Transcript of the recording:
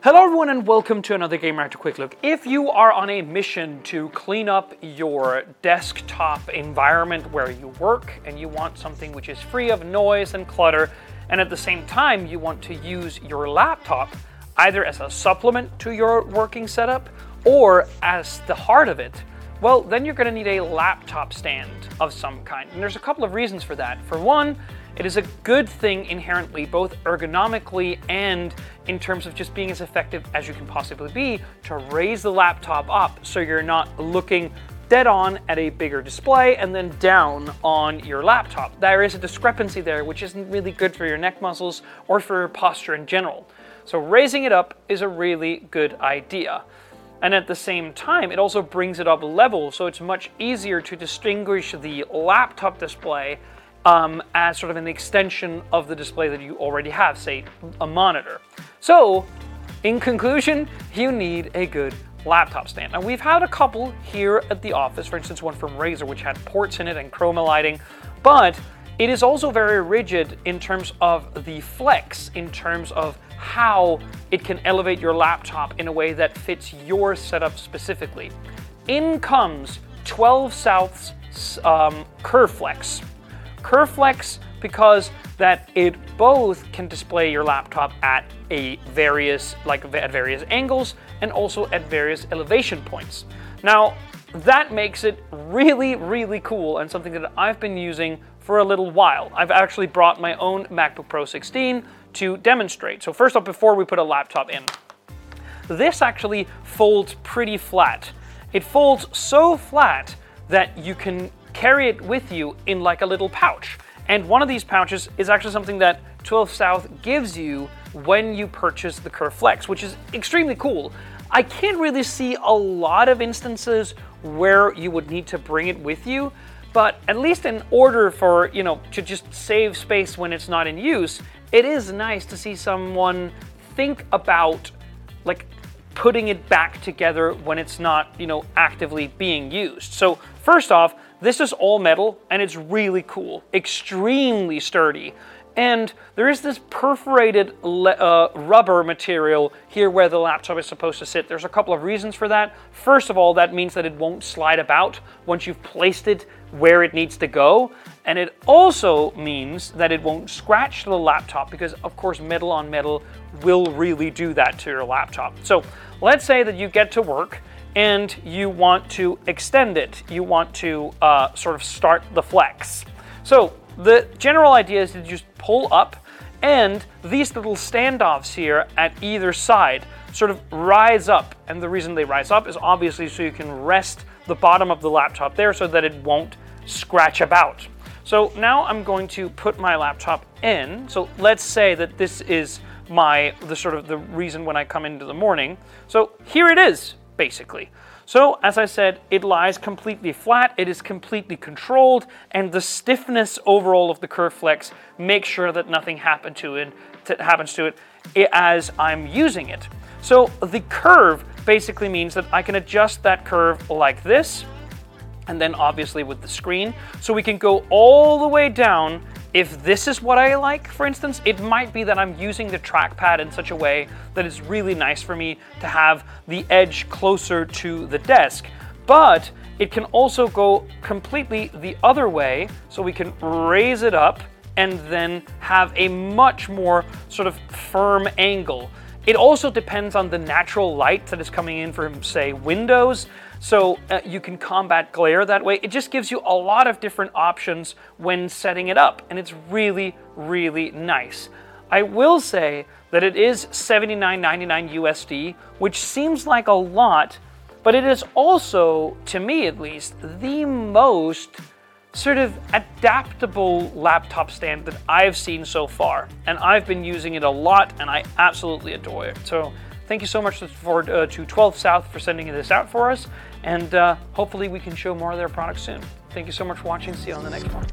Hello everyone and welcome to another Gamereactor Quick Look. If you are on a mission to clean up your desktop environment where you work and you want something which is free of noise and clutter, and at the same time you want to use your laptop either as a supplement to your working setup or as the heart of it, well, then you're going to need a laptop stand of some kind. And there's a couple of reasons for that. For one, it is a good thing inherently, both ergonomically and in terms of just being as effective as you can possibly be, to raise the laptop up so you're not looking dead on at a bigger display and then down on your laptop. There is a discrepancy there which isn't really good for your neck muscles or for your posture in general. So raising it up is a really good idea. And at the same time, it also brings it up level, so it's much easier to distinguish the laptop display as sort of an extension of the display that you already have, say a monitor. So, in conclusion, you need a good laptop stand. Now we've had a couple here at the office, for instance one from Razer which had ports in it and chroma lighting, but it is also very rigid in terms of the flex, in terms of how it can elevate your laptop in a way that fits your setup specifically. In comes 12 South's Curve Flex. Curve Flex because that it both can display your laptop at various angles and also at various elevation points. Now that makes it really, really cool and something that I've been using for a little while. I've actually brought my own MacBook Pro 16 to demonstrate. So first off, before we put a laptop in, this actually folds pretty flat. It folds so flat that you can carry it with you in like a little pouch. And one of these pouches is actually something that 12 South gives you when you purchase the Curve Flex, which is extremely cool. I can't really see a lot of instances where you would need to bring it with you, but at least in order for, to just save space when it's not in use, it is nice to see someone think about like putting it back together when it's not, actively being used. So first off, this is all metal and it's really cool, extremely sturdy. And there is this perforated rubber material here where the laptop is supposed to sit. There's a couple of reasons for that. First of all, that means that it won't slide about once you've placed it where it needs to go. And it also means that it won't scratch the laptop because, of course, metal on metal will really do that to your laptop. So let's say that you get to work and you want to extend it. You want to sort of start the flex. So the general idea is to just pull up, and these little standoffs here at either side sort of rise up. And the reason they rise up is obviously so you can rest the bottom of the laptop there so that it won't scratch about. So now I'm going to put my laptop in. So let's say that this is the reason when I come into the morning. So here it is, basically. So as I said, it lies completely flat, it is completely controlled, and the stiffness overall of the Curve Flex makes sure that nothing happens to it as I'm using it. So the curve basically means that I can adjust that curve like this, and then obviously with the screen. So we can go all the way down. If this is what I like, for instance, it might be that I'm using the trackpad in such a way that it's really nice for me to have the edge closer to the desk. But it can also go completely the other way, so we can raise it up and then have a much more sort of firm angle. It also depends on the natural light that is coming in from, say, windows. So you can combat glare that way. It just gives you a lot of different options when setting it up, and it's really, really nice. I will say that it is $79.99 USD, which seems like a lot, but it is also, to me at least, the most sort of adaptable laptop stand that I've seen so far. And I've been using it a lot, and I absolutely adore it. So thank you so much to 12 South for sending this out for us, and hopefully we can show more of their products soon. Thank you so much for watching. See you on the next one.